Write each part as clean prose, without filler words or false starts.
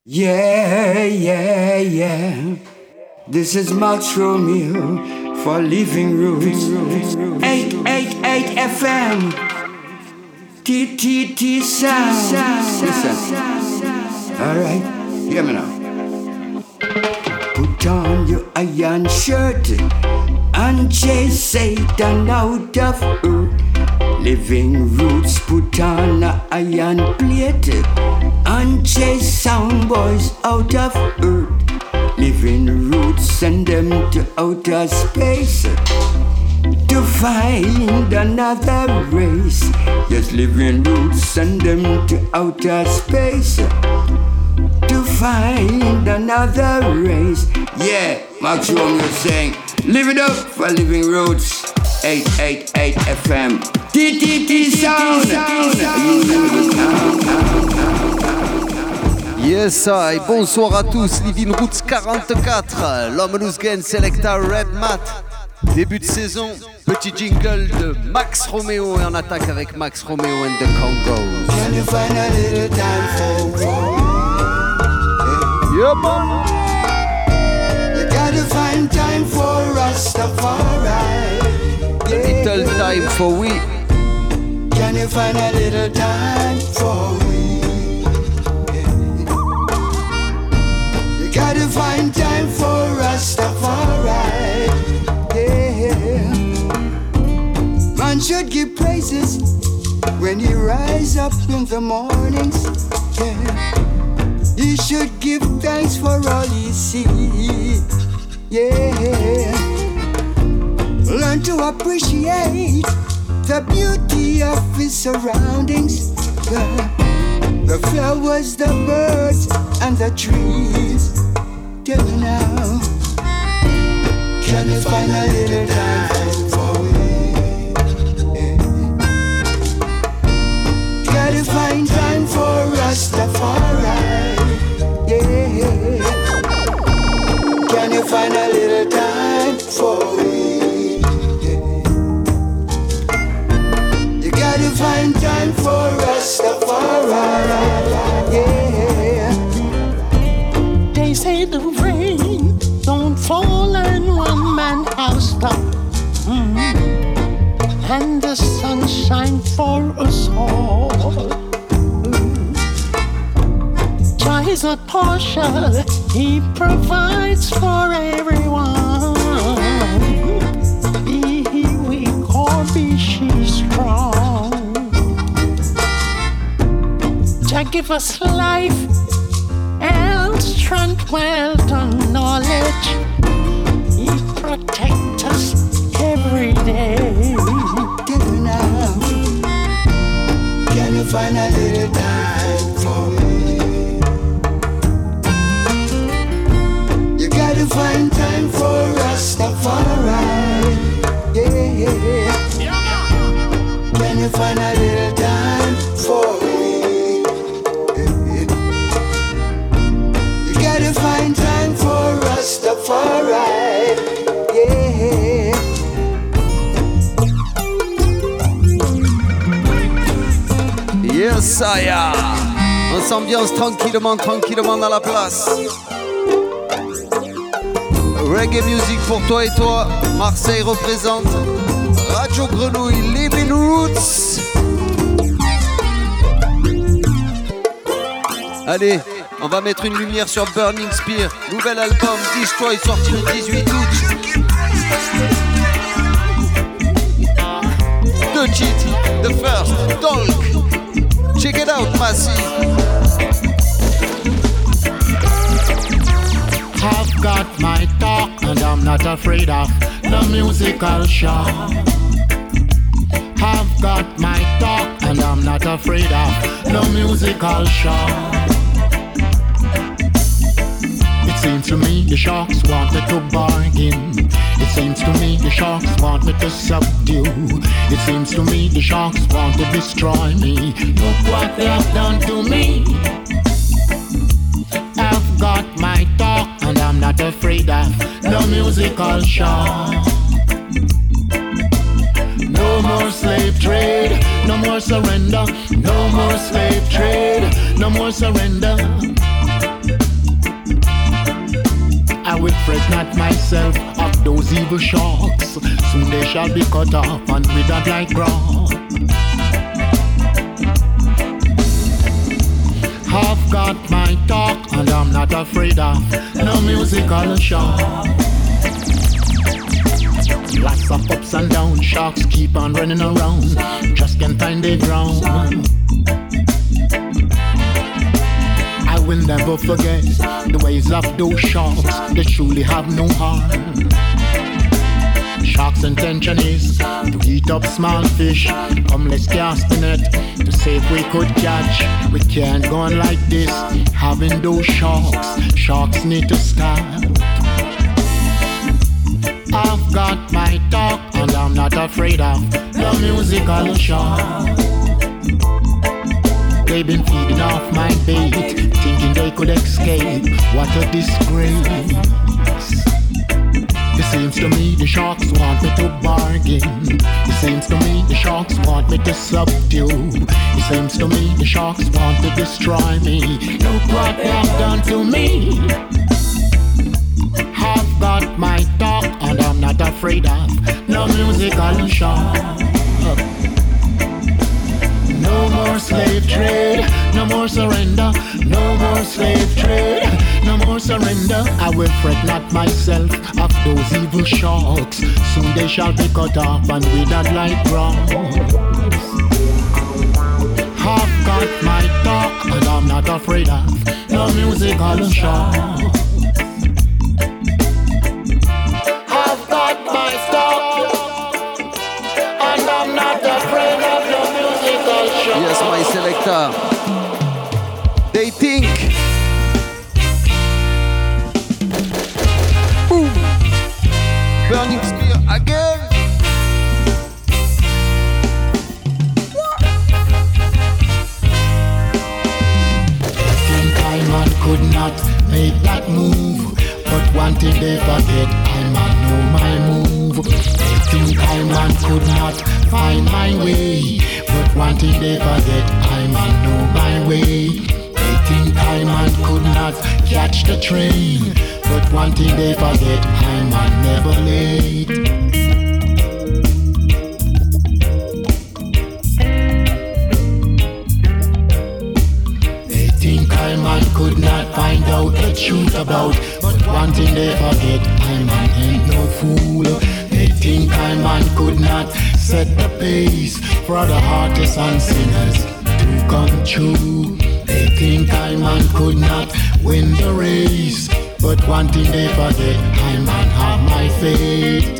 Yeah, yeah, yeah. This is Max Romeo for Living Roots. 888 FM. TTT Sound. Listen. Alright, hear me now. Put on your iron shirt and chase Satan out of earth. Living Roots, put on a iron plate and chase sound boys out of earth. Living Roots, send them to outer space to find another race. Yes, Living Roots, send them to outer space to find another race. Yeah, Max Romeo saying, live it up for Living Roots. 888 FM. TTT Sound. Yes, I. Bonsoir à tous. Living Roots 44. L'homme loose gain Selecta Red Mat. Début de saison. Petit jingle de Max Romeo et on attaque avec Max Romeo and the Congos. Can you find a little time for yeah, mama. You gotta find time for Rastafari. Little time for we. Can you find a little time for we? You gotta find time for Rastafari. Yeah. Man should give praises when he rise up in the mornings. Yeah. He should give thanks for all he sees. Yeah. Learn to appreciate the beauty of his surroundings. The flowers, the birds, and the trees. Tell me now, can you find a little time for me? Can you find time for Rastafari? Yeah. Can you find a little time for me? To find time for Rastafari, yeah. They say the rain don't fall in one man's house top, and the sunshine for us all. Jah is not partial, He provides for everyone. He weak or be she strong. Jah give us life and strength, wealth and knowledge. He protect us every day. Now, can you find a little time for me? You gotta find time for Rastafari. Yeah. Can you find a little time for me? Find time for Rastafari, yeah. Yes, I am. On s'ambiance tranquillement dans la place. Reggae music pour toi et toi. Marseille représente. Radio Grenouille, Living Roots. Allez. On va mettre une lumière sur Burning Spear, nouvel album Destroy sorti le 18 août. Deux cheats, the first, Talk. Check it out, Massy. I've got my talk and I'm not afraid of the musical show. I've got my talk and I'm not afraid of the musical show. It seems to me the sharks wanted to bargain. It seems to me the sharks want me to subdue. It seems to me the sharks want to destroy me. Look what they have done to me. I've got my talk and I'm not afraid of the musical show. No more slave trade, no more surrender. No more slave trade, no more surrender. evil sharks, soon they shall be cut off and withered like grass. I've got my talk and I'm not afraid of no musical shock. Lots of ups and downs, sharks keep on running around, just can't find their ground. I will never forget the ways of those sharks, they truly have no harm. Sharks' intention is to eat up small fish. Come, let's cast the net to see if we could catch. We can't go on like this, having those sharks. Sharks need to stop. I've got my talk and I'm not afraid of the musical shark. They've been feeding off my bait, thinking they could escape. What a disgrace. It seems to me the sharks want me to bargain. It seems to me the sharks want me to subdue. It seems to me the sharks want to destroy me. Look what they have done to me. I've got my talk and I'm not afraid of no musical shark. No more slave trade, no more surrender, no more slave trade, no more surrender. I will fret not myself of those evil sharks. Soon they shall be cut off and withered like grass. I've got my talk and I'm not afraid of no musical shark. I've got my talk and I'm not afraid of no musical shark. Yes, my selector. They think. Boom. Burning spear again. Think I man could not make that move, but one thing they forget, I man know my move. They think I man could not find my way, but one thing they forget, I man know my way. They think I man could not catch the train, but one thing they forget, I man never late. They think I man could not find out the truth about, but one thing they forget, I man ain't no fool. They think I man could not set the pace for the artists and singers to come true. They think I man could not win the race, but one thing they forget, I man have my faith.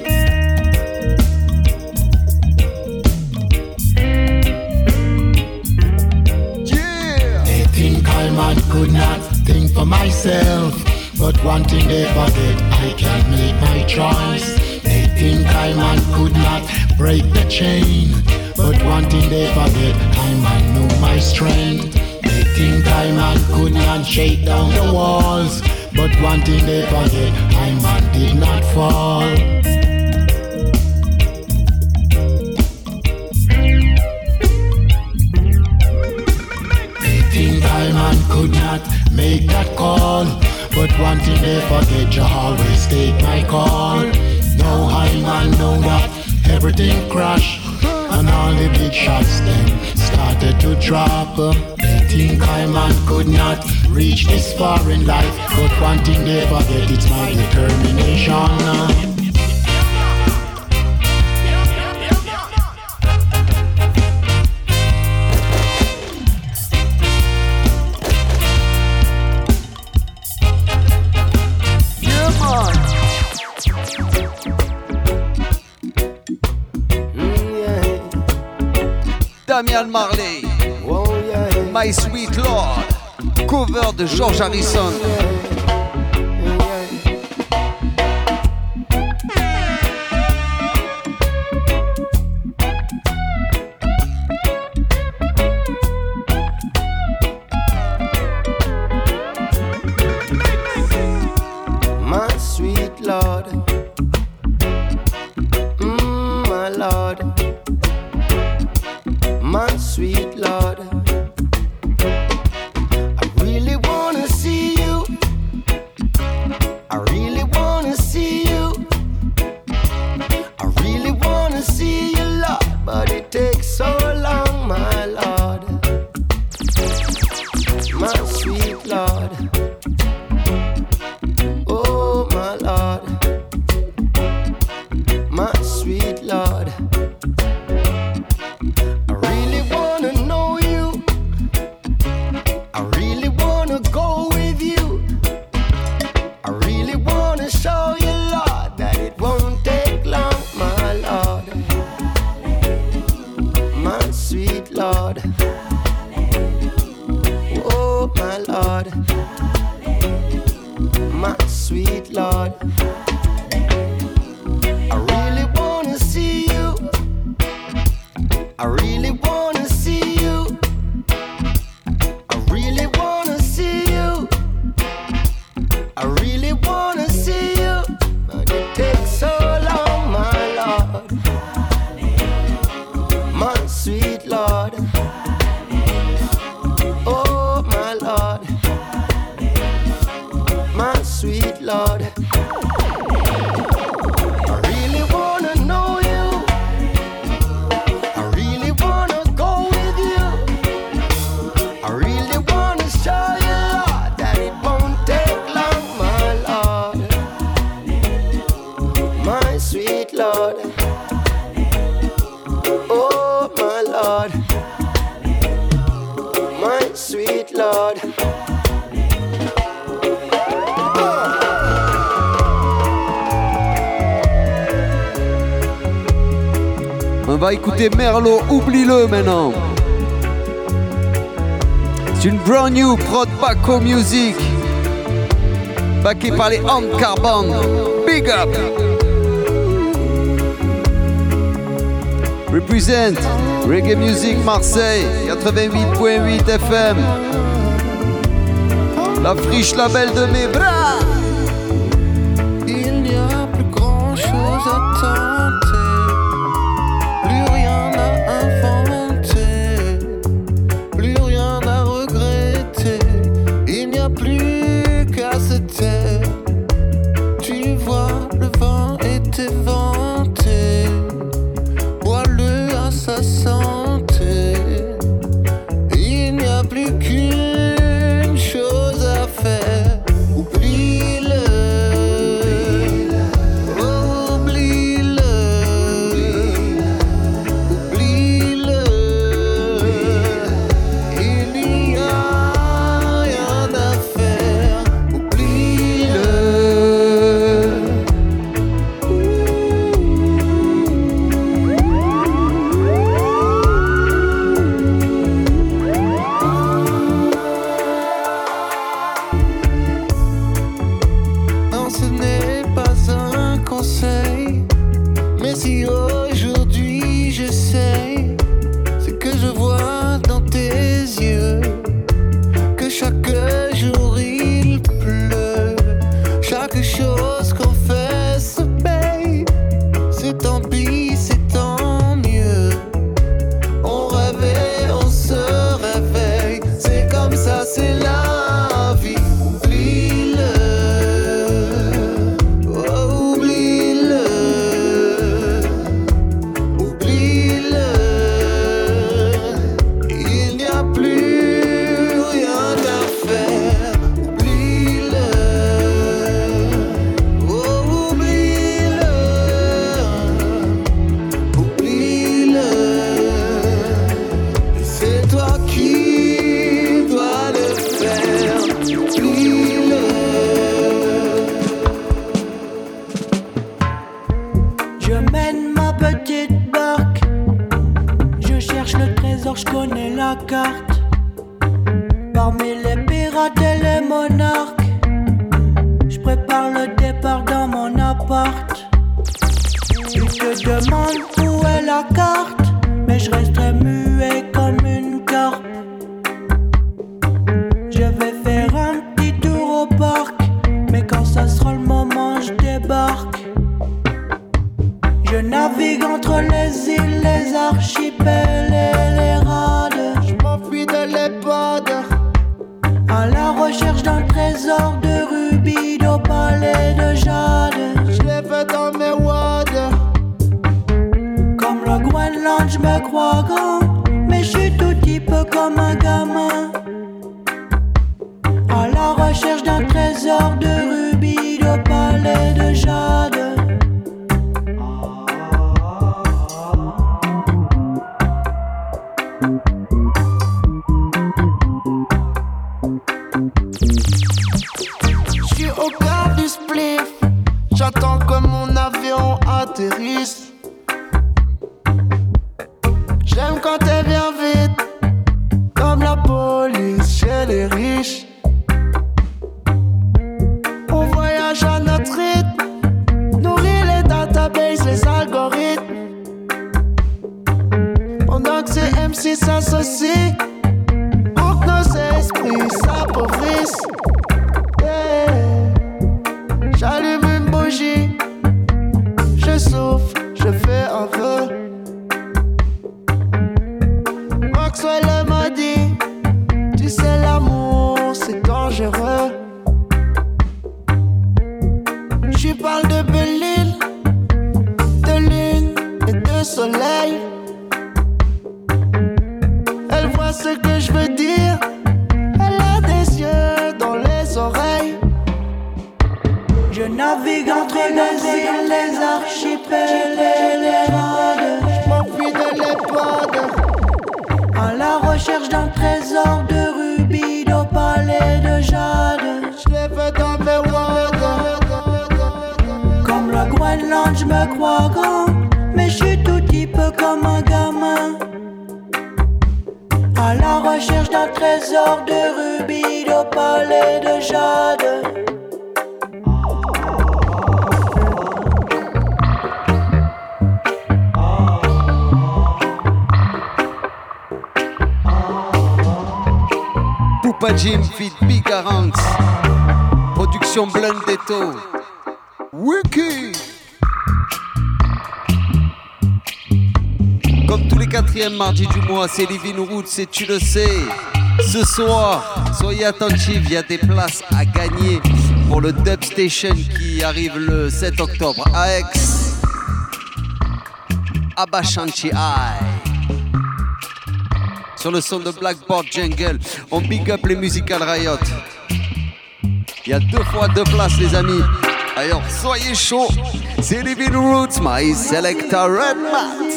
They think I man could not think for myself, but one thing they forget, I can make my choice. They think I man could not break the chain, but one thing they forget, I man know my strength. They think I man could not shake down the walls, but one thing they forget, I man did not fall. They think I man could not make that call, but one thing they forget, you always take my call. No high man know that everything crash, and all the big shots then started to drop. They think I man could not reach this far in life, but one thing they forget, it's my determination. Damian Marley, My Sweet Lord, cover de George Harrison. My sweet Lord, my Lord, my sweet Lord, I really wanna see you my sweet Lord. I really wanna see you. I really wanna see you. I really wanna see you. I really wanna see you. But it takes so long, my Lord. My sweet Lord. Oh, my Lord. My sweet Lord. I really wanna know you. I really wanna go with you. I really wanna show you, Lord, that it won't take long, my Lord. My sweet Lord. Oh, my Lord. My sweet Lord. On va écouter Merlot, oublie-le maintenant. C'est une brand new prod Baco Music, backé par les Hand Carbon. Big up. Represent Reggae Music Marseille 88.8 FM. La friche label de mes bras. Il n'y a plus grand chose à tenter, plus rien à inventer, plus rien à regretter. Il n'y a plus qu'à se taire. Tu vois, le vent est éventé, bois-le à sa santé. Il n'y a plus qu'une chose à faire. Oublie-le. On voit Je parle de belle île, de lune et de soleil. Elle voit ce que je veux dire. Elle a des yeux dans les oreilles. Je navigue entre les îles, les archipels et les modes. Je m'enfuis de l'épode à la recherche d'un trésor de rubis, d'opale et de jade. Je les veux dans mes wads. Comme le Groenland, je me crois grand, mais je suis tout petit peu comme un gamin. À la recherche d'un trésor de rubis, d'opale et de jade. Poupa Jim feat Big Arants. Production Blundetto. Wiki. Comme tous les 4e mardis du mois, c'est Living Roots et tu le sais. Ce soir, soyez attentifs, il y a des places à gagner pour le Dub Station qui arrive le 7 octobre à Aix. Abashanti High. Sur le son de Blackboard Jungle, on big up les Musical Riot. Il y a 2 fois 2 places les amis. Alors soyez chauds, c'est Living Roots, my selector Red Mat.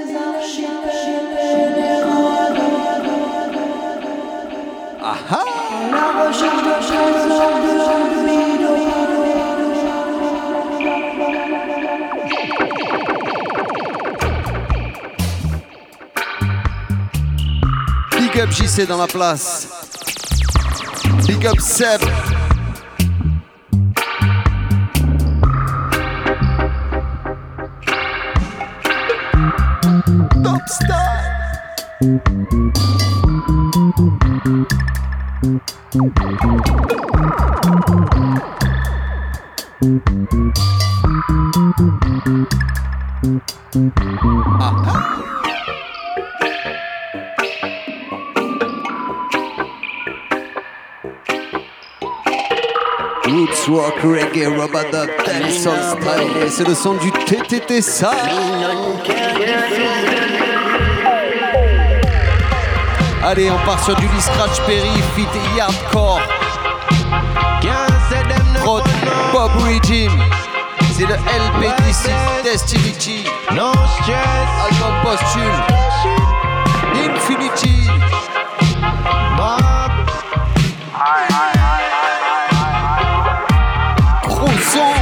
Aha. La recherche de trésor de Big up JC dans la place. Big up Seb. Top Star. Aha. Roots rock, reggae, rubber-dub, dancehall style. Et c'est le son du TTT ça. Allez, on part sur du Lee Scratch Perry, fit et hardcore. Prod Bob Regime. C'est le LP Destiny. No stress. Album posthume. Infinity. Bob. Gros son.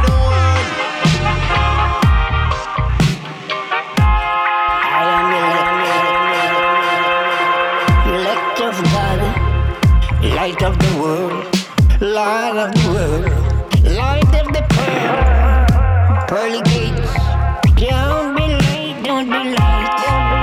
Light of the world, light of the world, light of the pearl, pearly gates. Don't be late, don't be late.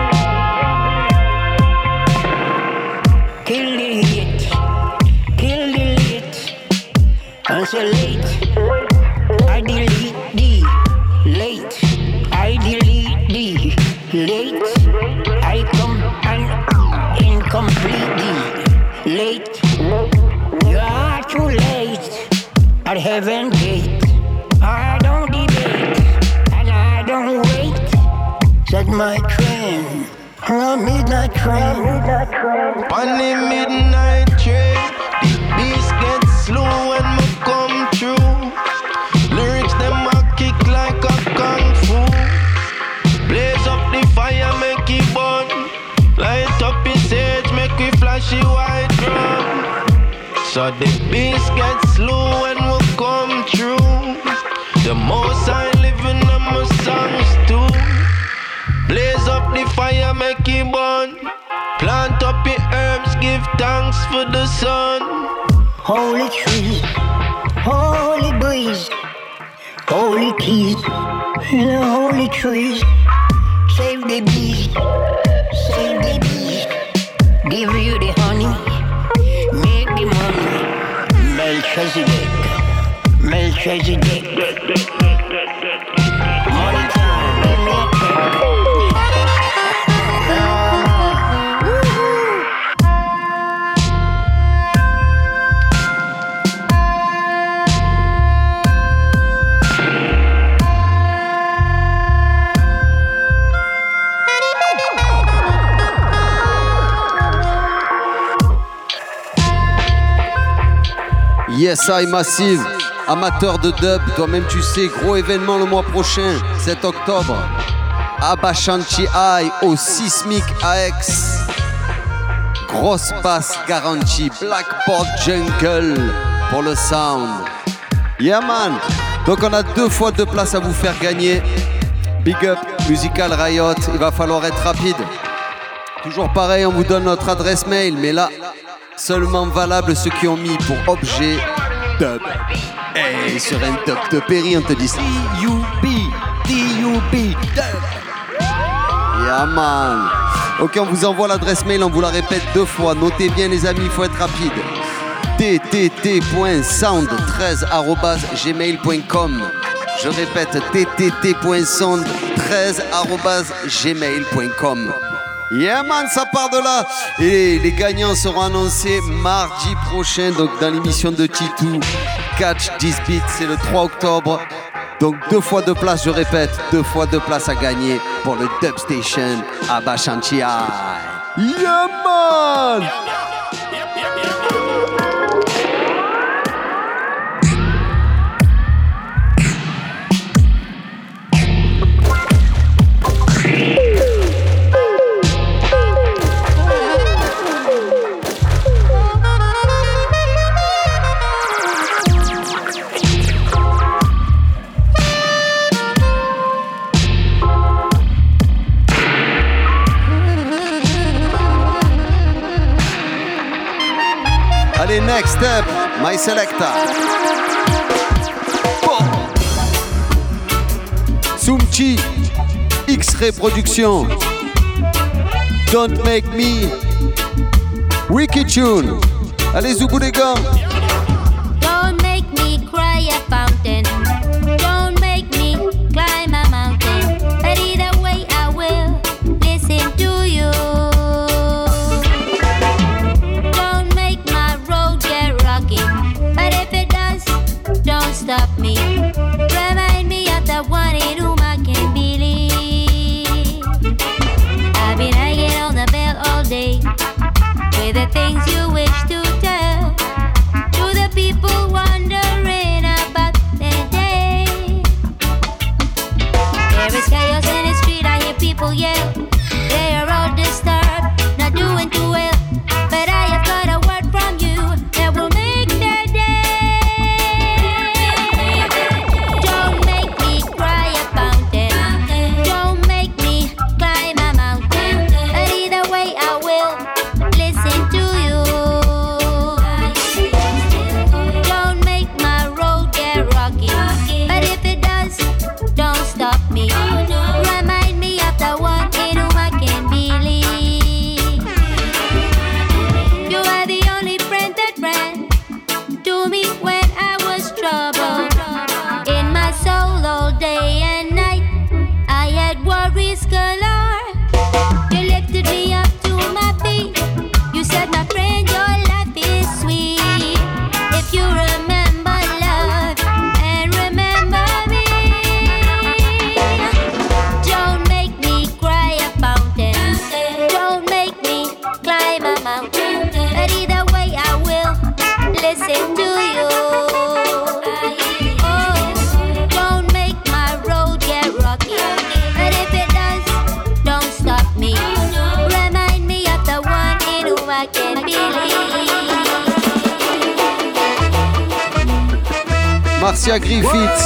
Kill the heat, kill the late. I'm so late, I delete the late, I delete the late. I come and incomplete the late. You are too late at heaven gate. I don't debate and I don't wait. Set my train on a midnight train. On the midnight train, the beast gets slow when we come through. Lyrics them a kick like a kung fu. Blaze up the fire, make it burn. Light up his sage, make it flashy white drum. So the beast gets slow when we come through. The most I live in my songs too. Blaze up the fire, make it burn. Plant up your herbs, give thanks for the sun. Holy trees, holy breeze, holy keys in the holy trees. Save the bees, save the bees. Give you the honey, make the money. Melchizedek, Melchizedek. Money time, give me a check. Yes, I Massive, amateur de dub, toi-même tu sais, gros événement le mois prochain, 7 octobre. Abashanti High au Sismic AX. Grosse basse garantie, Blackboard Jungle pour le sound. Yeah man. Donc on a 2 fois 2 places à vous faire gagner. Big up Musical Riot, il va falloir être rapide. Toujours pareil, on vous donne notre adresse mail, mais là, seulement valable ceux qui ont mis pour objet dub. Hey, sur un dub de Perry, on te dit D-U-B, dub. Yeah man. Ok, on vous envoie l'adresse mail, on vous la répète 2 fois. Notez bien les amis, il faut être rapide. ttt.sound13@gmail.com. Je répète, ttt.sound13@gmail.com. Yeah man, ça part de là. Et les gagnants seront annoncés mardi prochain, donc dans l'émission de Titou. Catch This Beat, c'est le 3 octobre. Donc 2 fois 2 places, je répète, 2 fois 2 places à gagner pour le Dub Station à Abashanti High. Yeah man! Allez, next step, My Selecta. Oh. Sumchi, X-Ray Production. Don't Make Me. Wicked Tune. Allez, Zoubou les gars. Don't make me cry a fountain. Don't make me climb a mountain. But either way I will listen to you. But if it does, don't stop me. Remind me of the one in whom I can believe. I've been hanging on the bell all day with the things you wish to tell to the people wondering about their day. There is chaos in the street, I hear people yell. They are all disturbed, not doing too well. But I have got a word from you that will make their day. Don't make me cry a fountain. Don't make me climb a mountain. But either way I will listen to you. Don't make my road get rocky. But if it does, don't stop me. Remind me of the one in whom I can believe. You are the only friend that ran to me when I was troubled. In my soul all day and night, I had worries galore. You lifted me up to my feet. You said, my friend, your life is sweet. If you remember love and remember me, don't make me cry a fountain. Don't make me climb a mountain. But either way I will listen to you. Oh, don't make my road get rocky. But if it does, don't stop me. Remind me of the one in whom I can believe. Marcia Griffiths.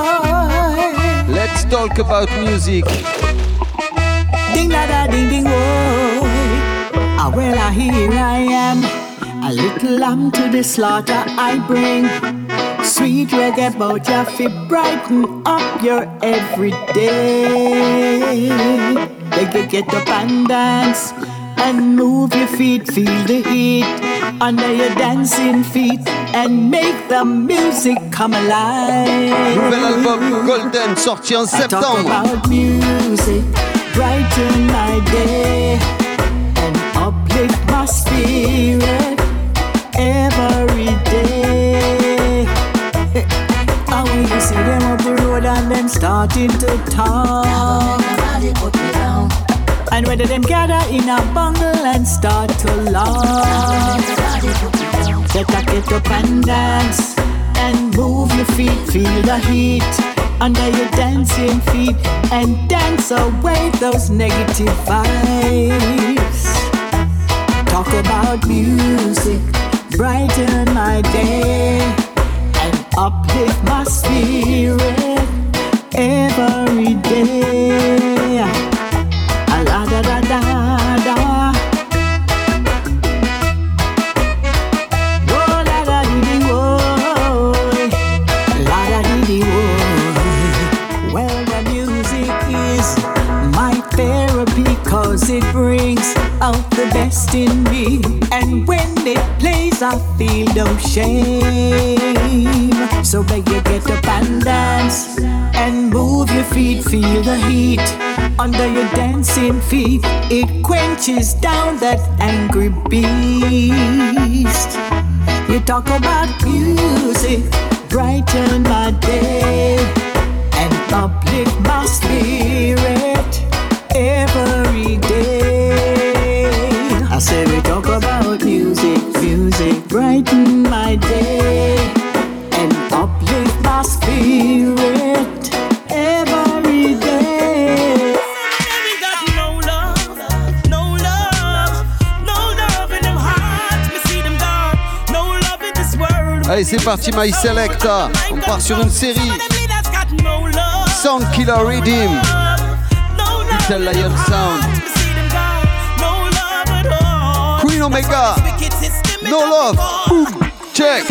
Let's talk about music. Ding da da ding ding whoa. Ah well here I am. A little lamb to the slaughter I bring. Sweet reggae bout ya fi brighten up your everyday. Get up and dance and move your feet, feel the heat under your dancing feet and make the music come alive. Nouvel album Golden sorti en I talk septembre. about music, brighten my day and uplift my spirit every day. And when you see them up the road and them starting to talk, and whether them gather in a bungle and start to laugh, Better get up and dance and move your feet, feel the heat under your dancing feet and dance away those negative vibes. Talk about music, brighten my day and uplift my spirit every day. A la da da da da. Oh la da dee dee oh, la da dee dee oh. Well, the music is my therapy 'cause it brings out the best in me, and when it plays I feel no shame. So beg you get up and dance and move your feet, feel the heat under your dancing feet. It quenches down that angry beast. You talk about music, brighten my day and uplift my spirit every day. I say we talk about music, music, brighten my day and uplift my spirit every day. We got no love, no love, no love in them hearts. Me see them dark, no love in this world. Allez, c'est parti, My Selecta. On part sur une série. Sound Killer Rhythm. Little Lion Sound. Queen Omega. No love. Boom. Check.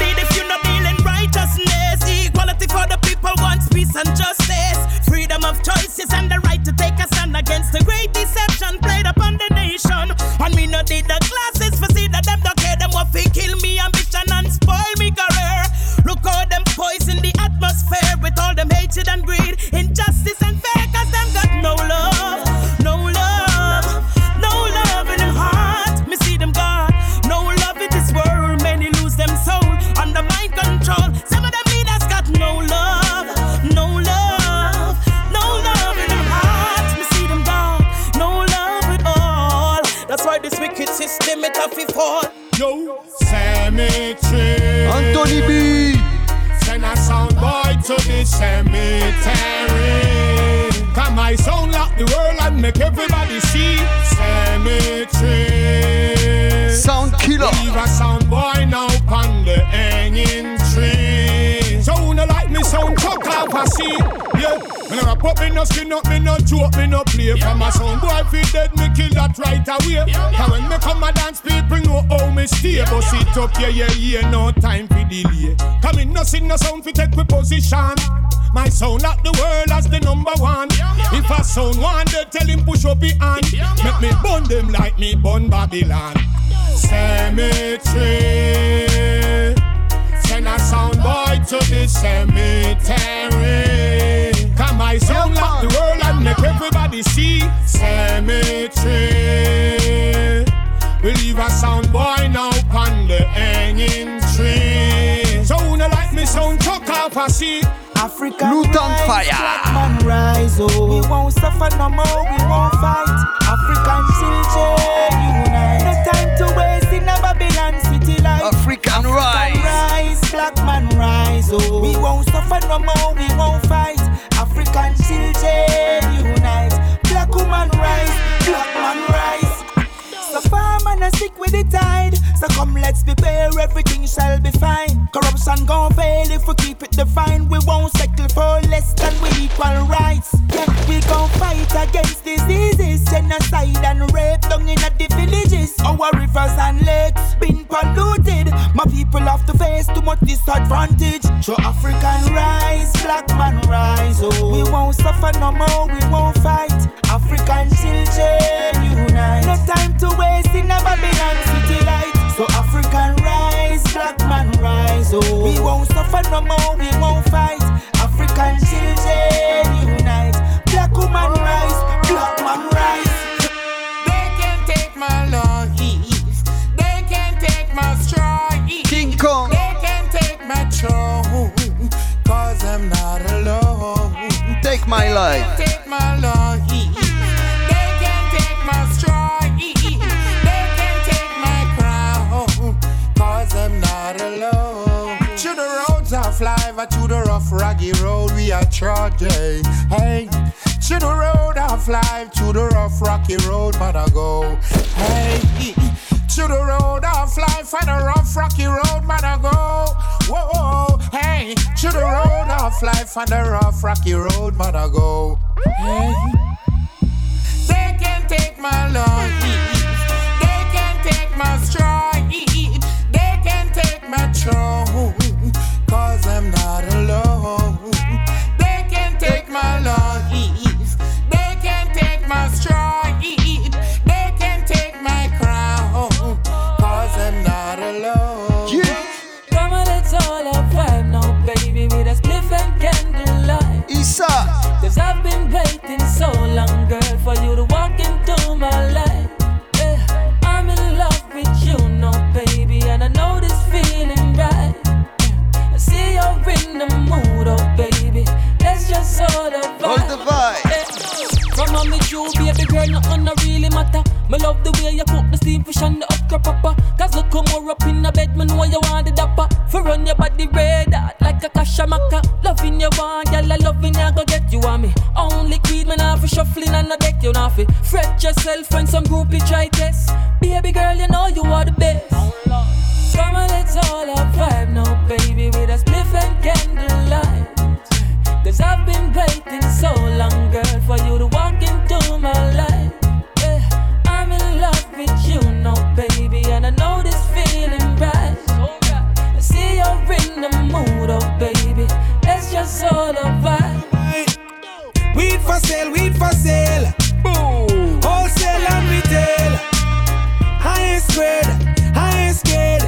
Equality for the people wants peace and justice. Freedom of choices and the right to take a stand against the great deception played upon the nation. And me no need the glasses for see that them don't care. Them what fi kill me ambition and spoil me career. Look how them poison the atmosphere with all them hatred and greed, injustice and fear. 'Cause them got no love, no love, no love in them heart. Me see them God, no love in this world. Many lose them soul under mind control. Some of them leaders got no love, no love, no love in them hearts. Me see them God, no love at all. That's why this wicked system it have to fall. Yo, cemetery. Anthony B. Send a sound boy to the cemetery. Come my sound lock the world and make everybody see. Cemetery. Sound Killer. Leave a sound boy now on the hanging tree. So who no like me sound chuck off a seat. Yeah, when I pop me no skin up, me no joke, me no play. From a sound boy fi dead, me kill that right away. And when me come a dance, people know how me stay. But sit up, yeah, no time fi delay. Come in, no sing, no sound fi take we position. My sound lock the world as the number one. If a sound one, they tell him push up his hand. Make me burn them like me burn Babylon. Cemetery. Send a sound boy to the cemetery. Come my sound lock the world and make everybody see. Cemetery. We leave a sound boy now on the hanging tree. So who no like me sound chuck off a seat. African Luton Fire. Man rise, oh. We won't suffer no more, we won't fight. African children unite. No time to waste in a Babylon city life. African Rise. Black man rise, oh. We won't suffer no more, we won't fight. African children unite. Black woman rise, black man rise. So far man a stick with the tide. So come let's prepare, everything shall be fine. Corruption gon' fail if we keep it divine. We won't settle for less than we equal rights. Yeah, we gon' fight against diseases, genocide and rape down in the villages. Our rivers and lakes been polluted. My people have to face too much disadvantage. So African rise, black man rise, oh. We won't suffer no more, we won't fight. African children unite. No time to waste in a Babylon city light. So African rise, black man rise, oh. We won't suffer no more, we won't fight. African children unite. Black woman rise, black man rise. They can't take my life, they can't take my strife. King Kong. They can't take my throne, 'cause I'm not alone. Take my life. They can't take my life, they can't take my strife. They can't take my crown, 'cause I'm of life, to the rough, raggy road we are trudging. Hey, to the road of life, to the rough, rocky road, man, I go. Hey, to the road of life, and the rough, rocky road, man, I go. Whoa, hey, to the road of life, and the rough, rocky road, man, I go. Hey, they can take my life, they can take my stride, they can take my throne, 'cause I'm not alone. They can take my life, they can take my stride, they can take my crown, 'cause I'm not alone. Yeah. Come on, it's all a vibe now, baby, with a spliff and candlelight. Isa, 'cause I've been waiting so long, girl, for you to walk into my life. Yeah. I'm in love with you now, baby, and I know this feeling right. I see you're in the mood, oh baby, that's just all the vibe. All the vibe. Yeah. From on me you, baby girl, nothing no really matter. Me love the way you cook the steam fish and the okra pepper. 'Cause look how more up in the bed, me know you want the dapper. For run your body red hot like a kashamaka. Loving you one, girl, I loving you, go get you on me. Only queen, me not for shuffling and no deck, you not for fret yourself when some groupie try test. Baby girl, you know you are the best. Come on, let's all a vibe now, baby, with a spliff and candlelight. 'Cause I've been waiting so long, girl, for you to walk into my life. Yeah, I'm in love with you now, baby, and I know this feeling right. I see you're in the mood, oh baby, that's just all a vibe. Weed for sale, weed for sale. Boom. Wholesale and retail. Highest grade, highest grade.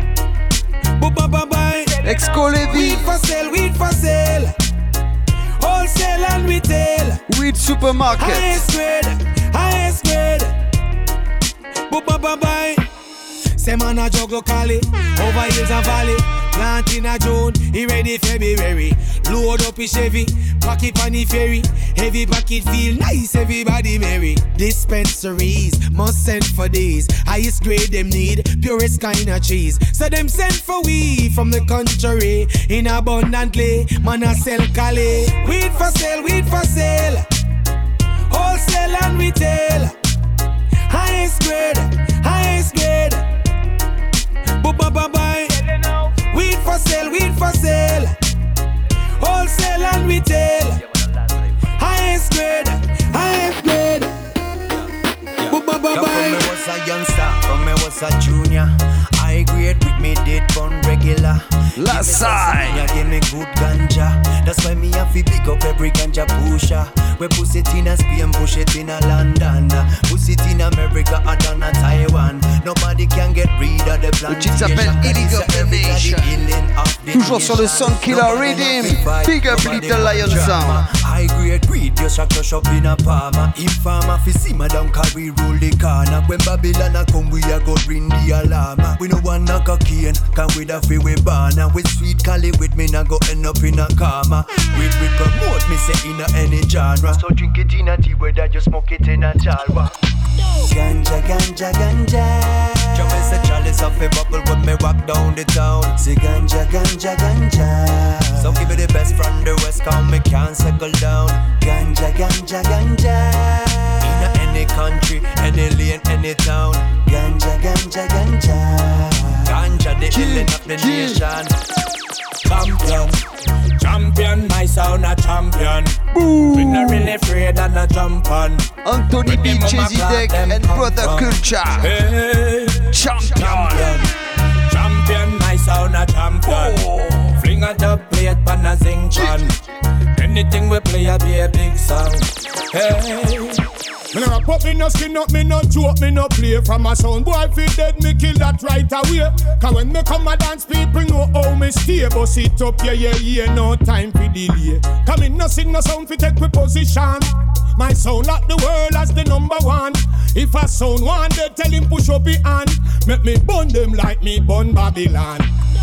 Bye. Exco Levy. Weed for sale, weed for sale. Wholesale and retail. Weed supermarket. Highest grade, highest grade. Bye. Say man a jug locally, over hills and valley. Plant in a June, he ready February. Load up his Chevy, pack it on the ferry. Heavy packet feel nice, everybody merry. Dispensaries must send for these. Highest grade them need, purest kind of cheese. So them send for we from the country. In abundantly, man a sell Cali. Weed for sale, weed for sale. Wholesale and retail. Highest grade, highest grade. Bye. Weed for sale, weed for sale. Wholesale and retail. Highest grade, highest grade. Bye. From me was a youngster, from me was a junior. High grade with me did bun regular. Last side. Give me good ganja. That's why me have to pick up every ganja pusher. We push it in a Spain, push it in a London. Push it in America and down a Taiwan. Nobody can get rid of the Le titre s'appelle Illegal Nation. Toujours sur le Soundkiller Rhythm. Big up Little Lion Sound. High grade greed, just a crush up in a palmer. Informer fi see madam carry rule the corner. When Babylon a come, we a go bring the alarm. We no want knock a cane, can we da fi we banner. With sweet Cali with me, na go end up in a karma. We promote me say in a any genre. So drink it in a tea, whether you smoke it in a jalwa. Ganja, ganja, ganja. Jump is a chalice of a bubble when me walk down the town. Say ganja, ganja, ganja. So give me the best from the west, come me can't settle down. Ganja, ganja, ganja. In any country, any lane, any town. Ganja, ganja, ganja. Ganja, the healing of the nation. Champion, my sound a champion. Boom. We not really afraid and a jump on. Anthony B, Chezzy Deck and Brother Culture. Hey. Champion, my sound a champion. Oh. Fling a dub plate pan a zing pan. Anything we play a be a big song. Hey. Me no pop, me no skin up, me no joke, me no play. From a sound boy fi dead, me kill that right away. Cause when me come a dance, people know how me stay. Bust it up, yeah, no time fi delay. Cause me no sing no sound fi take we position. My sound lock the world as the number one. If a sound one, they tell him push up his hand. Make me burn them like me burn Babylon.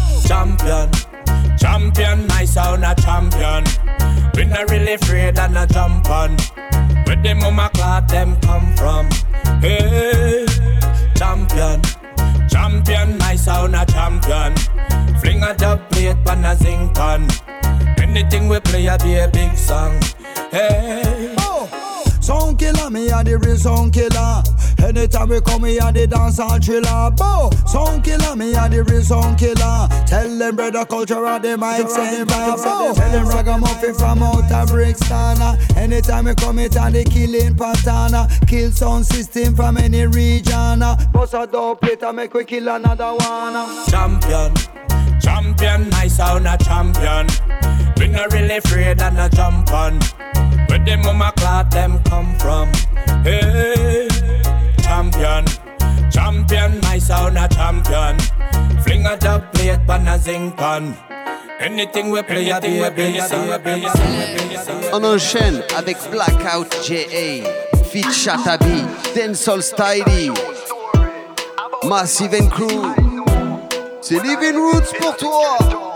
Champion, my sound a champion. We not really afraid and a jump on. Where the mama clap them come from? Hey, champion, my sound a champion. Fling a dub plate pan a zinc pan. Anything we play a be a big song. Hey. Sound killer, me a the real sound killer. Anytime we come, me a the dance and thriller. Bo, sound killer, me a the real sound killer. Tell them brother culture of the mic say Bo. Tell them ragamuffin from out of Brixton. Anytime we come, it and the killing pattern. Kill sound system from any region. Boss a dope later, make we kill another one. Champion, champion, my sound a champion. We not really afraid and a jump on. Where the mama cloth them come from? Hey, champion, champion, my sound a champion. Fling a dub plate pan a zinc pan. Anything we play a be a big song. On enchaîne avec Blackout J.A. Feat Shatabi, Dancehall Styly, Massive and Crew. C'est Living Roots pour toi.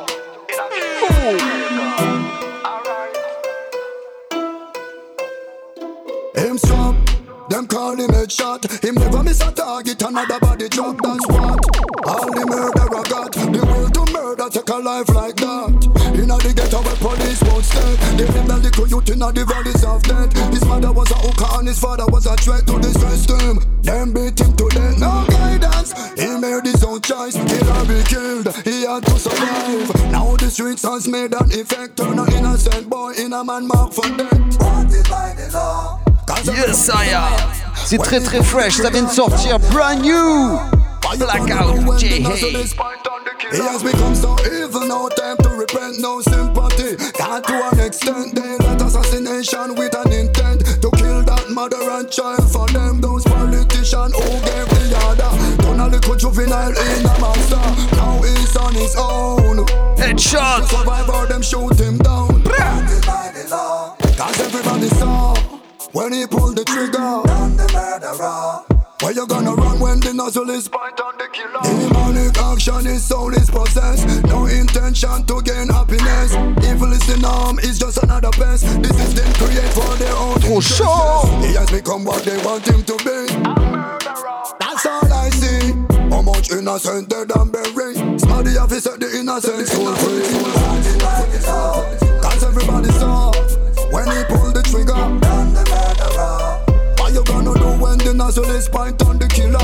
Him strap, them call him headshot. Him never miss a target, another body drop, that's what. All the murder I got, the will to murder take a life like that. Inna the ghetto where police won't stay. They live the little youth inna the valleys of death. His mother was a hooker and his father was a threat to the system. Them beat him to death, no guidance. He made his own choice, kill or be killed. He had to survive. Now the streets has made an effect. Turn an innocent boy in a man marked for death. Wanted by the law. Yes, I am. C'est très très fresh, ça vient de sortir, brand new. Blackout J.A. He has become so evil, no time to repent, no sympathy. Got to an extent, they let assassination with an intent to kill that mother and child. For them, those politicians who gave the order. Turn a little juvenile in a monster. Now he's on his own. Headshot. To survive or them shoot him down. Cause everybody saw when he pulled the trigger on the murderer. Where you gonna run when the nozzle is point on the killer? Demonic action, his soul is possessed. No intention to gain happiness. Evil is the norm, it's just another pest. This is them create for their own interest. He has become what they want him to be. That's all I see. How much innocent dead and buried. Smarty have to set the innocent soul free. Cause everybody saw when he pulled the trigger on the murderer. What you gonna do when the nozzle is point on the killer?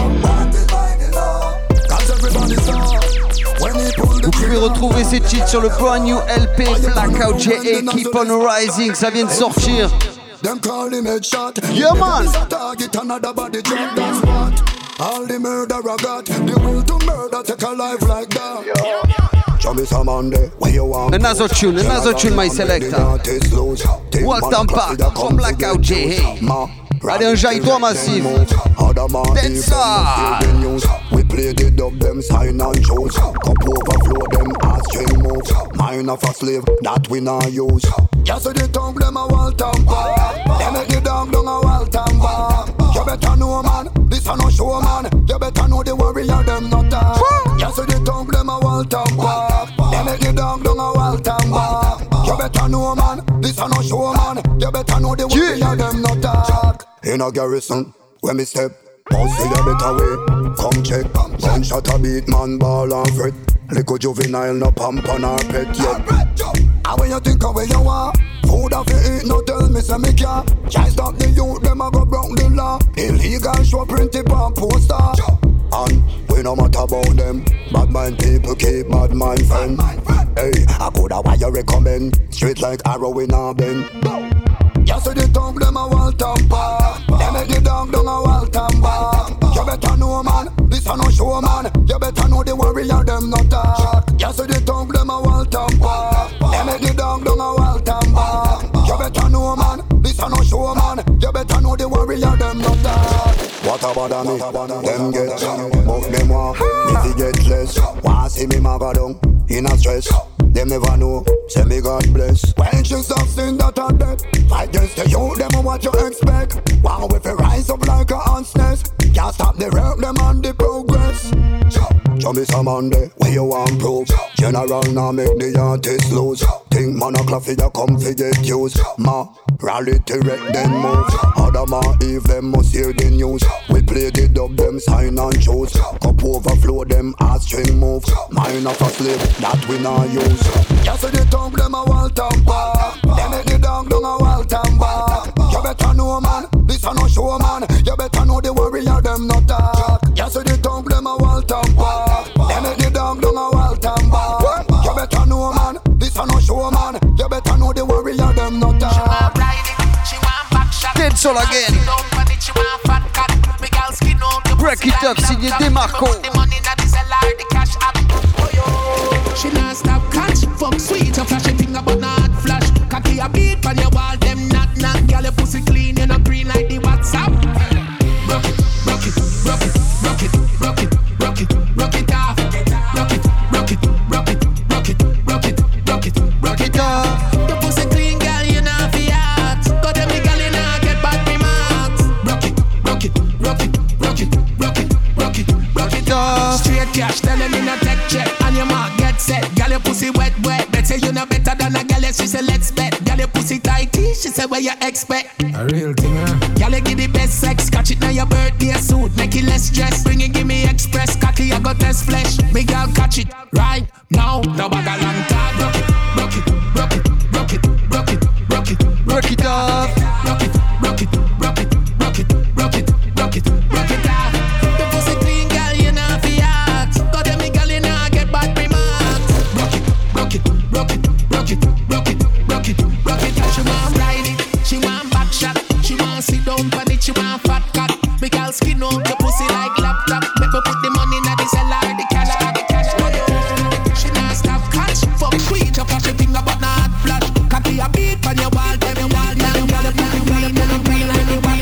Cause everybody saw when he pulled the Vous pouvez trigger. retrouver ces titres sur le brand new LP Blackout J.A. Keep on Rising, ça vient de sortir. Them call him headshot. Yeah, man. Is a target, another body drop, that's what. All the murder I got, the will to murder take a life like that. Show me some Monday, where you want. Another tune, my selector. Welcome back from Blackout J.A. Allez, enjaille-toi massif. Densa. We play the dub, them sign and shows. Cup overflow, them as string moves. Mind of a slave, that we not use. Yes, so the tongue, them a wall tamper. They make the dog down a wall tamper. You better know, man, this a no show, man. You better know the warrior, them not talk. Yes, so the tongue, them a wall tamper. They make the dog down a wall tamper. You better know, man, this a no show, man. You better know the warrior, them not talk. In a garrison, when me step, boss see a better way. Come check, gunshot a beat, man, ball and fret. Little juvenile, no pump on our pet yet. And when you think of where you are, food of you eat, no tell me say me can't. Can't stop the youth, them a go broke the law. Illegal show printed on poster. And we no matter about them. Bad mind people keep bad mind friend. Hey, I coulda why you recommend. Straight like arrow in a bend. You see the tongue, them a wall tamper. They make the dog down a wall tamper. You better know, man, this a no show, man. You better know the warrior, them not talk. You see the tongue, them a wall tamper. They make the dog down a wall tamper. You better know, man, this a no show, man. You better know the warrior, them not talk. What about me? Them get but them want me to get less. Want see me maga down in a stress. Them never know, say me God bless. When you stop sin that are dead, fight against the youth, them what you expect. Wow, if you rise up like a ant's nest, can't stop the work, them on the progress. Show me some Monday, where you want proof. General now make the artist lose. Think man a clock for you come for get used. Ma, Rally to wreck them move. Adam and Eve them must hear the news. We play the dub them sign and shows. Cup overflow them as string move. Mine of a slave that we not use. Just the tongue them a wall tamper. Them make the dog down a wall tamper. You better know man, this a no show man. You better know the warrior them not talk. Just the tongue them a wall tamper. Them make the dog down a wall tamper. You better know man, this a no show man. You better know the warrior them not talk. Dead Soul again. Break it up, signé Demarco. She not stop catch, fuck sweet, you flash a thing about not flash. Cocky a beat on your wall, them not. Girl, your pussy clean, you not green like the WhatsApp. Rock it, rock it, rock it, rock it, rock it, rock it, rock it off. Rock it, rock it, rock it, rock it, rock it, rock it, rock it off. Your pussy clean, girl, you not fi hot. Got them the girl, you not get bad remarks. Rock it, rock it, rock it, rock it, rock it, rock it, rock it off. Straight cash, tell them you not take check, and your mark get set. Girl, your pussy wet, wet. Bet say you know better than a girl, she say let's bet. Girl, your pussy tighty, she say what you expect. A real thing, huh? Girl, you give the best sex, catch it now your birthday suit, make it less stress. Bring it, give me express, cocky, I got test flesh. Big girl, catch it right now. No bag a long time. Rock it, rock it, rock it, rock it, rock it, rock it, rock it off. Rock it, rock it, rock it, rock it, rock it, rock it, rock it off. The pussy clean, girl, you not fi hot. Got them the girl, you not get bad remarks. Rock it, rock it, rock it, rock it, rock it, rock it, rock it. She want ride it, she want back shot, she want sit down for it, she want fat cat. Make her skin out the pussy like laptop. Make her put the money in the cellar, the cash, the cash. She not stop catch, fuck sweet, you flash a thing about not flash. Cocky a beat on your wall, tell me wall, now you gotta put the green, and the green, and the white.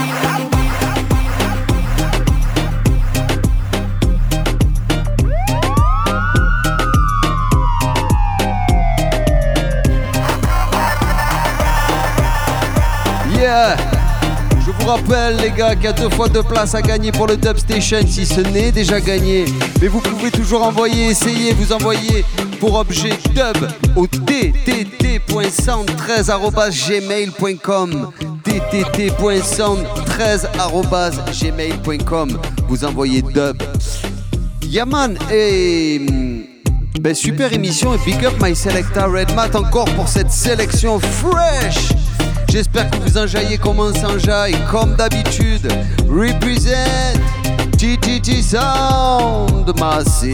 Yeah. Je vous rappelle les gars qu'il y a 2 fois 2 places à gagner pour le Dub Station si ce n'est déjà gagné. Mais vous pouvez toujours envoyer, essayer, vous envoyer pour objet dub au ttt.sound13@gmail.com ttt.sound13@gmail.com. Vous envoyez dub. Yaman et super émission et big up my selecta Red Mat encore pour cette sélection fresh. J'espère que vous enjaillez comme on s'enjaille, comme d'habitude. Represent TTT Sound Massive.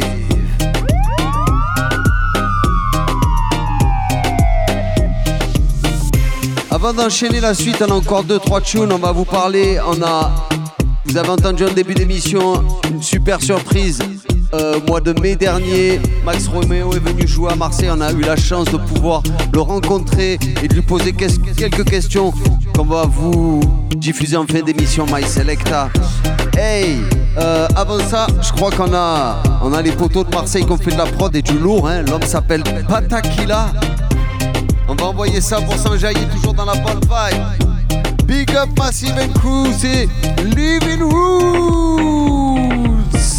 Avant d'enchaîner la suite, on a encore 2-3 tunes, on va vous parler. Vous avez entendu en début d'émission une super surprise. Mois de mai dernier, Max Romeo est venu jouer à Marseille. On a eu la chance de pouvoir le rencontrer et de lui poser quelques questions qu'on va vous diffuser en fin d'émission My Selecta. Hey, avant ça, je crois qu'on a les poteaux de Marseille qui ont fait de la prod et du lourd. Hein. L'homme s'appelle Patakila. On va envoyer ça pour s'enjailler toujours dans la bonne vibe. Big up Massive and Crew, c'est Living Roots.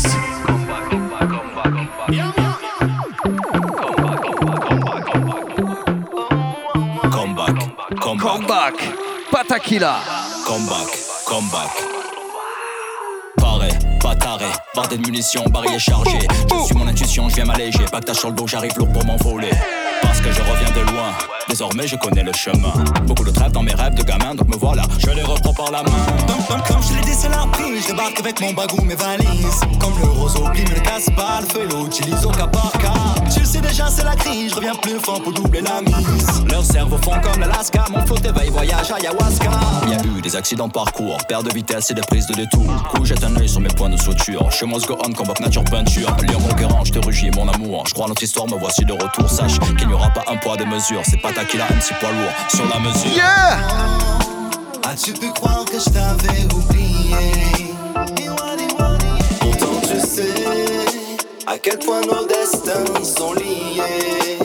Comeback, Patakila. Comeback. Pareil, pas taré, barre de munitions, barillet chargé. Je suis mon intuition, je viens m'alléger. Pactage sur le dos, j'arrive lourd pour m'envoler. Parce que je reviens de loin, désormais je connais le chemin. Beaucoup de trêves dans mes rêves de gamin, donc me voilà, je les reprends par la main. Comme je l'ai dit, c'est la prise, je débarque avec mon bagou, mes valises. Comme le roseau, ne le casse pas, le feu l'utilise au cas par cas. Tu le sais déjà, c'est la crise, je reviens plus fort pour doubler la mise. Leurs cerveaux font comme l'Alaska, mon flot éveille, voyage ayahuasca. Il y a eu des accidents de parcours, perte de vitesse et des prises de détour. Coup, jette un œil sur mes points de suture. Chez moi, go on, convoque nature peinture. Lion conquérant, je te rugis, mon amour. Je crois à notre histoire, me voici de retour. Sache qu'il n'y aura pas un poids de mesure. C'est pas Patakila, un petit poids lourd sur la mesure. Yeah! As-tu pu croire que je t'avais oublié? Pourtant tu sais à quel point nos destins sont liés.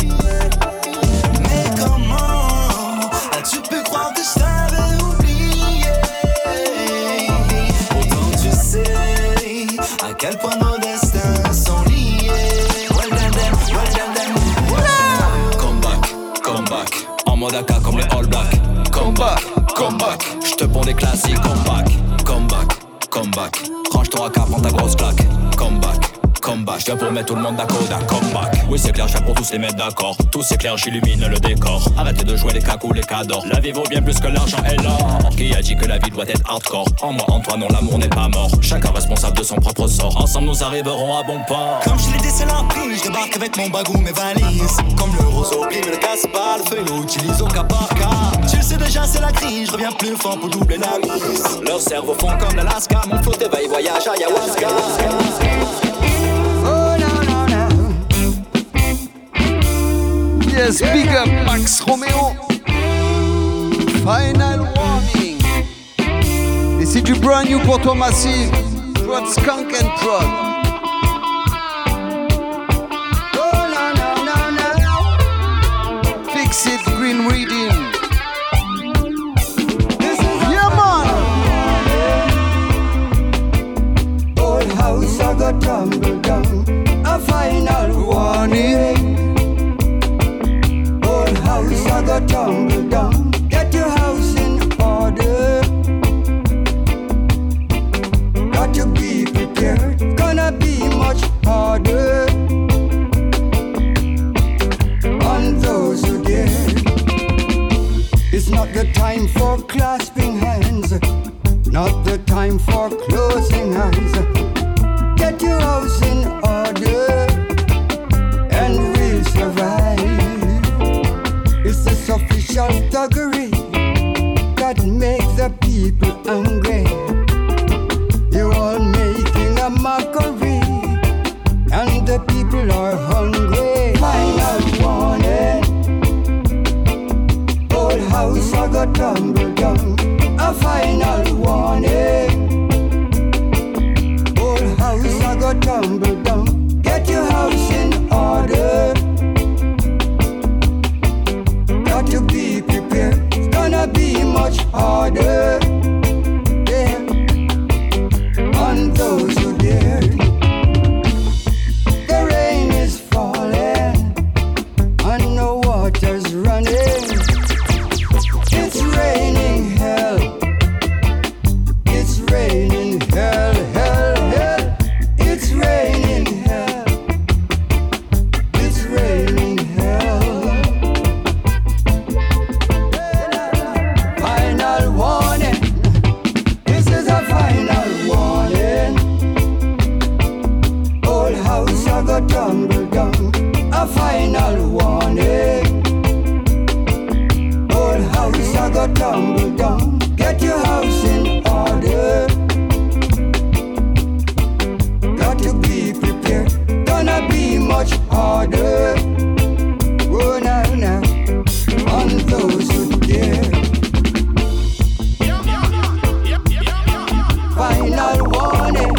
Mais comment as-tu pu croire que je t'avais oublié? Pourtant tu sais à quel point nos destins sont liés. Comeback, en mode AK comme les All Blacks. come back, come back. J'te ponds des classiques, come back, come back, come back. Range ton AK, prends ta grosse claque, come back. Combat, je viens pour mettre tout le monde d'accord, comeback. Oui c'est clair, je viens pour tous les mettre d'accord. Tout c'est clair, j'illumine le décor. Arrêtez de jouer les cacous, les cadors. La vie vaut bien plus que l'argent et l'or. Qui a dit que la vie doit être hardcore? En moi, en toi, non, l'amour n'est pas mort. Chacun responsable de son propre sort. Ensemble nous arriverons à bon port. Comme je l'ai dit, c'est la prise, je débarque avec mon bagou, mes valises. Comme le roseau, il ne casse pas, le feu l'utilise au cas par cas. Tu le sais déjà, c'est la crise, je reviens plus fort pour doubler la mise. Leurs cerveaux font comme l'Alaska, mon flot éveille, voyage à ayahuasca. Yes, big up Max Romeo. Final warning. Et c'est du brand new pour toi Massive. Prod Skunk and Prod. Fix it, Green Reading. Yeah man. Old house I got tumble down. A final warning. House I got tumble down. Get your house in order. Got to be prepared. Gonna be much harder on those who dare. It's not the time for clasping hands. Not the time for closing eyes. Get your house in order and we'll survive. It's this official thuggery that makes the people angry. You're all making a mockery, and the people are hungry. Final warning. Old house I got tumble down. A final warning. Old house I got tumble down. Get your house in order. Got to be prepared. It's gonna be much harder, yeah, on those who dare. The rain is falling and the water's running. It's raining hell. It's raining hell, hell, hell. It's raining hell. It's raining hell. Final warning. This is a final warning. Old house I got tumble down. A final warning. Old house I got tumble down. Get your house in order. Got to be prepared. Gonna be much harder. Oh now, now, on those who dare. Final warning.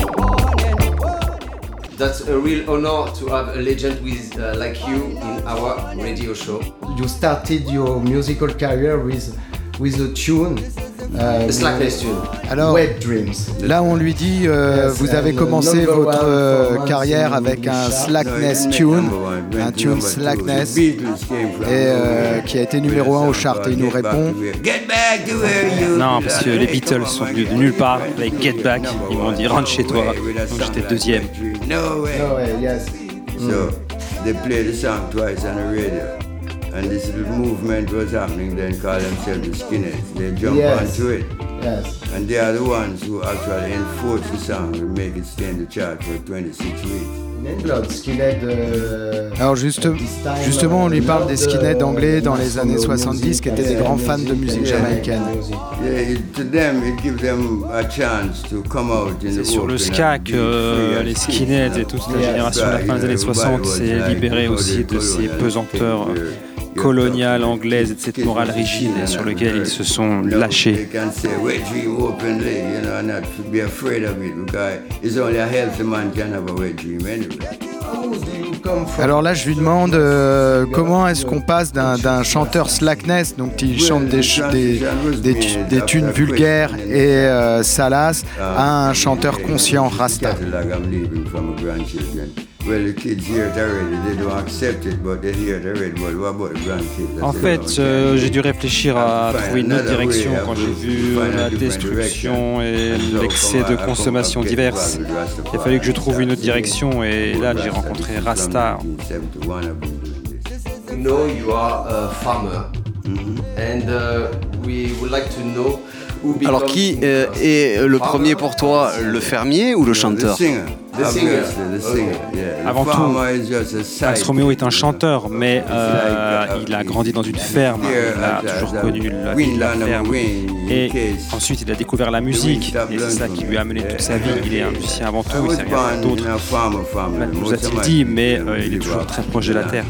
That's a real honor to have a legend with like you in our radio show. You started your musical career with a tune. Slackness tune. Alors, Wet Dreams. là on lui dit vous avez commencé votre carrière avec un Slackness tune, un tune Slackness, et qui a été numéro 1 au chart. Et il nous répond non, parce que les Beatles sont venus de nulle part avec Get Back, ils m'ont dit rentre chez toi, donc j'étais deuxième. No way, yes. So they played the song twice on the radio. And this little movement was happening then called themselves the Skinheads. They jump onto it. Yes. And they are the ones who actually enforce the song and make it stay in the chart for 26 weeks. Alors justement, on lui parle des skinheads anglais dans les années 70 qui étaient des grands fans de musique jamaïcaine. C'est sur le ska que les skinheads et toute la génération de la fin des années 60 s'est libérée aussi de ces pesanteurs coloniale anglaise et de cette morale rigide sur laquelle ils se sont lâchés. Alors là, je lui demande comment est-ce qu'on passe d'un chanteur slackness, donc qui chante des tunes vulgaires et salaces, à un chanteur conscient, rasta. Well, the kids hear it already. They don't accept it, but they hear it already. But what about the grandkids? En fait, j'ai dû réfléchir à trouver une autre direction quand j'ai vu la destruction et l'excès de consommation diverses. Il a fallu que je trouve une autre direction et là j'ai rencontré Rasta. We know you are a farmer and we would like to know. Alors qui est le premier pour toi, le fermier ou le chanteur? Avant tout, Max Romeo est un chanteur, mais il a grandi dans une ferme, il a toujours connu la vie de la ferme. Et ensuite, il a découvert la musique, et c'est ça qui lui a amené toute sa vie. Il est un musicien avant tout, il sait rien d'autre, nous a-t-il dit, mais il est toujours très proche de la terre.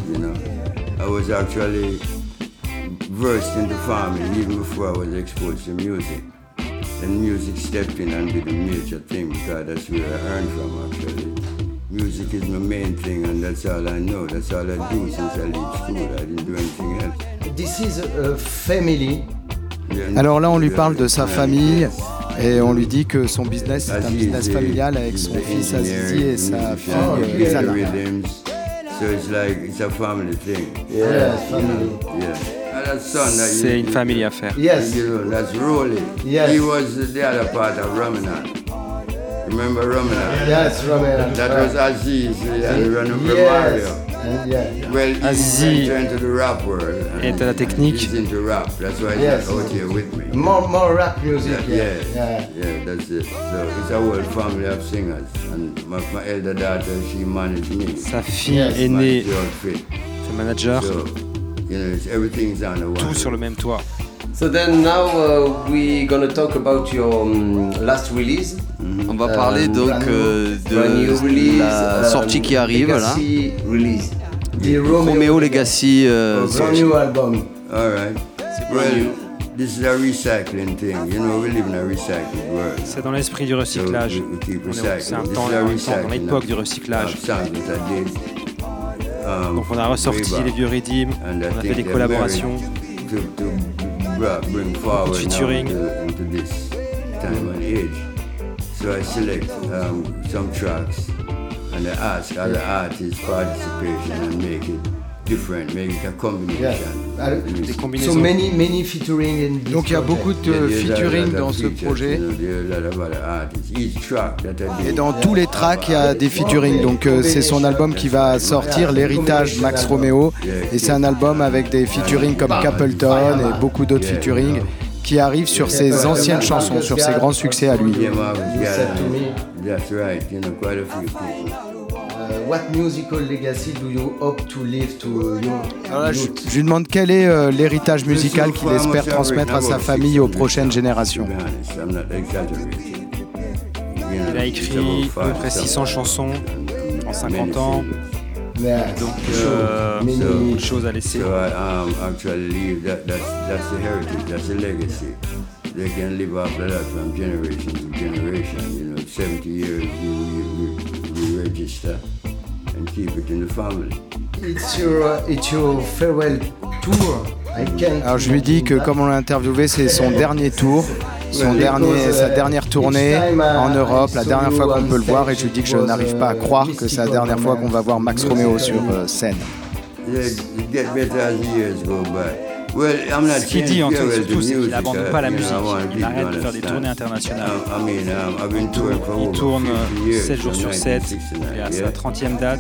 Versed into farming even before I was exposed to music. And music stepped in and did a major thing because that's where I earned from actually. Music is my main thing and that's all I know. That's all I do since I leave school. I didn't do anything else. This is a family. Alors là, on lui parle de sa famille et on lui dit que son business est un business familial avec son fils Azizi et sa fille Zana. So it's like it's a family thing. Yeah, family. Yeah. C'est une famille affaire. Yes. You know, that's Rolly. Yes. He was the other part of Ramadan. Remember Ramadan? Yes, Ramadan. That was Aziz and Mario. Well, Aziz into the rap world. est à la technique. He's into rap. That's why he's out here with me. More rap music. Yeah, that's it. So it's a whole family of singers. And my elder daughter, she managed me. Sa fille aînée fait manager. So, you know, everything's on the one. Tout sur le même toit. So then now we're gonna talk about your last release. On va parler donc de la sortie qui arrive là. Romeo Legacy. New album. All right. Well, this is a recycling thing. You know, we live in a recycled world. C'est dans l'esprit du recyclage. C'est un temps dans l'époque du recyclage. Donc on a ressorti les vieux rythmes, on a fait des collaborations, beaucoup de featuring. So I select some tracks and I ask other artists participation and make it different, make it a combination. Des combinaisons. So many featuring in this Donc il y a beaucoup de featuring dans ce projet. Et dans tous les tracks, il y a des featuring. Donc c'est son album qui va sortir, l'héritage Max Romeo. Et c'est un album avec des featuring comme Capleton et beaucoup d'autres featuring qui arrivent sur ses anciennes chansons, sur ses grands succès à lui. What musical legacy do you hope to leave to your Je lui demande quel est l'héritage musical qu'il espère transmettre à sa famille, aux prochaines générations. Il a écrit à peu près 600 chansons en 50 ans. Donc beaucoup de choses à laisser. Actually, that's the heritage, that's the legacy. They can live after that from generation to generation. You know, 70 years we register and keep it in the family. It's your farewell tour. Alors je lui dis que comme on l'a interviewé, c'est son dernier tour, sa dernière tournée en Europe, la dernière fois qu'on peut le voir, et je lui dis que je n'arrive pas à croire que c'est la dernière fois qu'on va voir Max Romeo sur scène. Ce qu'il dit en fait surtout, c'est qu'il n'abandonne pas la musique, il arrête de faire des tournées internationales. Il tourne 7 jours sur 7, il est à sa 30e date.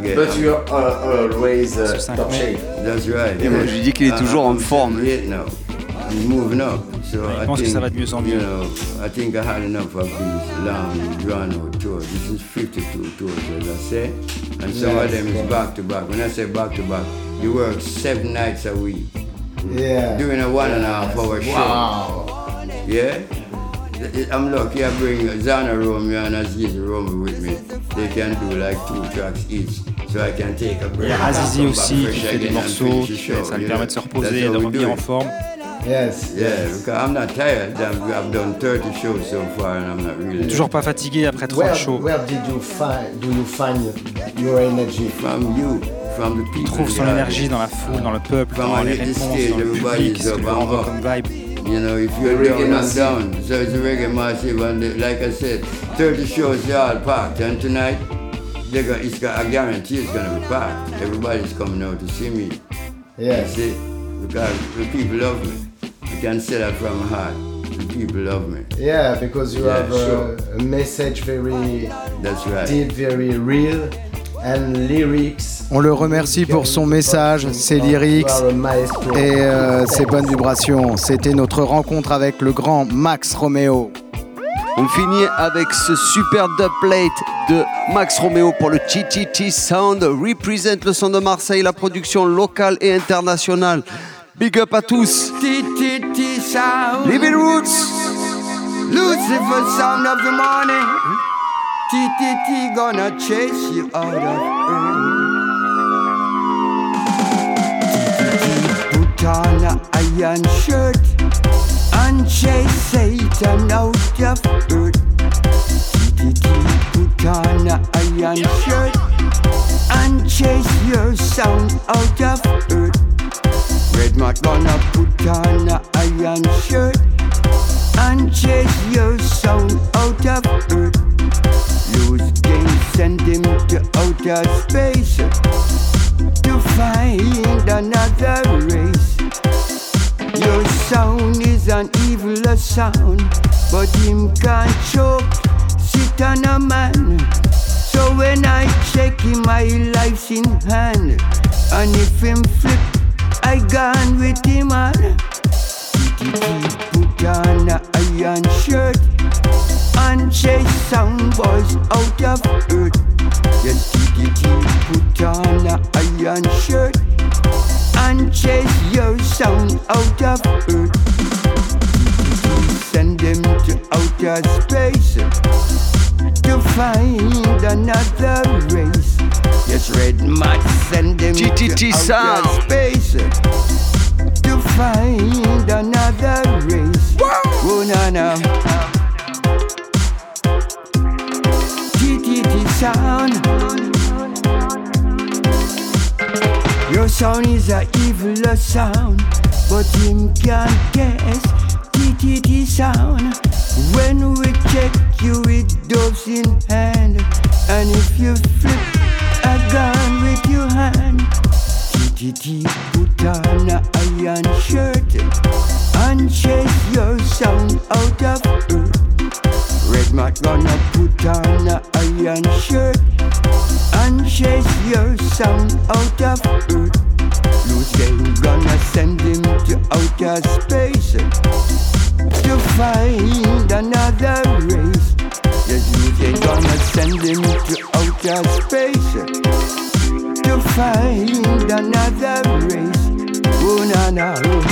Ce 5 mai. Et moi je lui dis qu'il est toujours en forme. Je pense que ça va de mieux en mieux. I think I had enough of these long, drawn-out tours. This is 52 tours, as I say, and some of them is back-to-back. When I say back-to-back, you work 7 nights a week. Yeah. Doing a 1.5 hour show. Wow. Yeah? I'm lucky I bring Zana Romeo and Aziz Romeo with me. They can do like 2 tracks each. So I can take a break. Il y a Azizi aussi qui fait des morceaux, ça lui permet de se reposer, de revenir en forme. Yes. Yeah, because I'm not tired. I've done 30 shows so far and I'm not really. Toujours pas fatigué après 30 shows. Where do you find your energy? From you, from the people. Il trouve son énergie dans la foule, dans le peuple, dans les réponses, dans le public, ce que lui renvoie comme vibe. You know, if you're down, I'm down. So it's a reggae massive, and like I said, 30 shows are all packed. And tonight, I guarantee it's going to be packed. Everybody's coming out to see me. Yeah. See, because the people love me. I can say that from my heart. The people love me. Yeah, because you have a message very deep, very real, and lyrics. On le remercie pour son message, ses lyrics et ses bonnes vibrations. C'était notre rencontre avec le grand Max Romeo. On finit avec ce super dubplate de Max Romeo pour le TTT Sound. Represent le son de Marseille, la production locale et internationale. Big up à tous. TTT Sound. Living Roots. Lucifer sound of the morning. TTT gonna chase you out of earth. TTT put on a iron shirt and chase Satan out of earth. TTT put on a iron shirt and chase your sound out of earth. Redmat gonna put on a iron shirt and chase your sound out of earth. Lose game, send him to outer space to find another race. Your sound is an evil sound, but him can't choke, sit on a man. So when I check him, my life's in hand, and if him flip, I gone with him on. TTT put on a iron shirt and chase sound boys out of earth. Yes, TTT put on a iron shirt and chase your sound out of earth. TTT send them to outer space to find another race. Yes, Red Mat send them TTT to outer space to find another race. Oh, no, no. TTT sound. Your sound is a evil sound, but him can't guess TTT sound. When we check you with doves in hand, and if you flip a gun with your hand, TTT put on a iron shirt and chase your sound out of earth. Redmat gonna put on a iron shirt and chase your sound out of earth. Loose game gonna send him to outer space to find another race. Yes, Loose game gonna send him to outer space to find another race. Oh, na na, oh.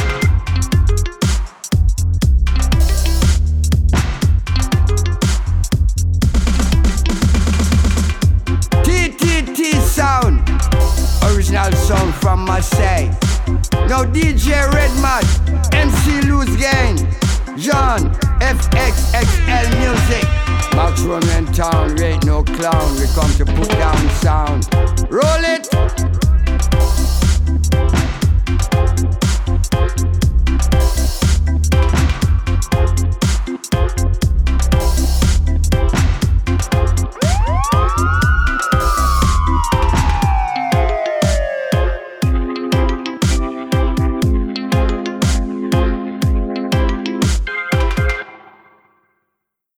TTT sound, original song from Marseille. Now DJ Redmat, MC Loose Gang, John, FXXL Music. Max Romeo in town, rate no clown. We come to put down sound. Roll it.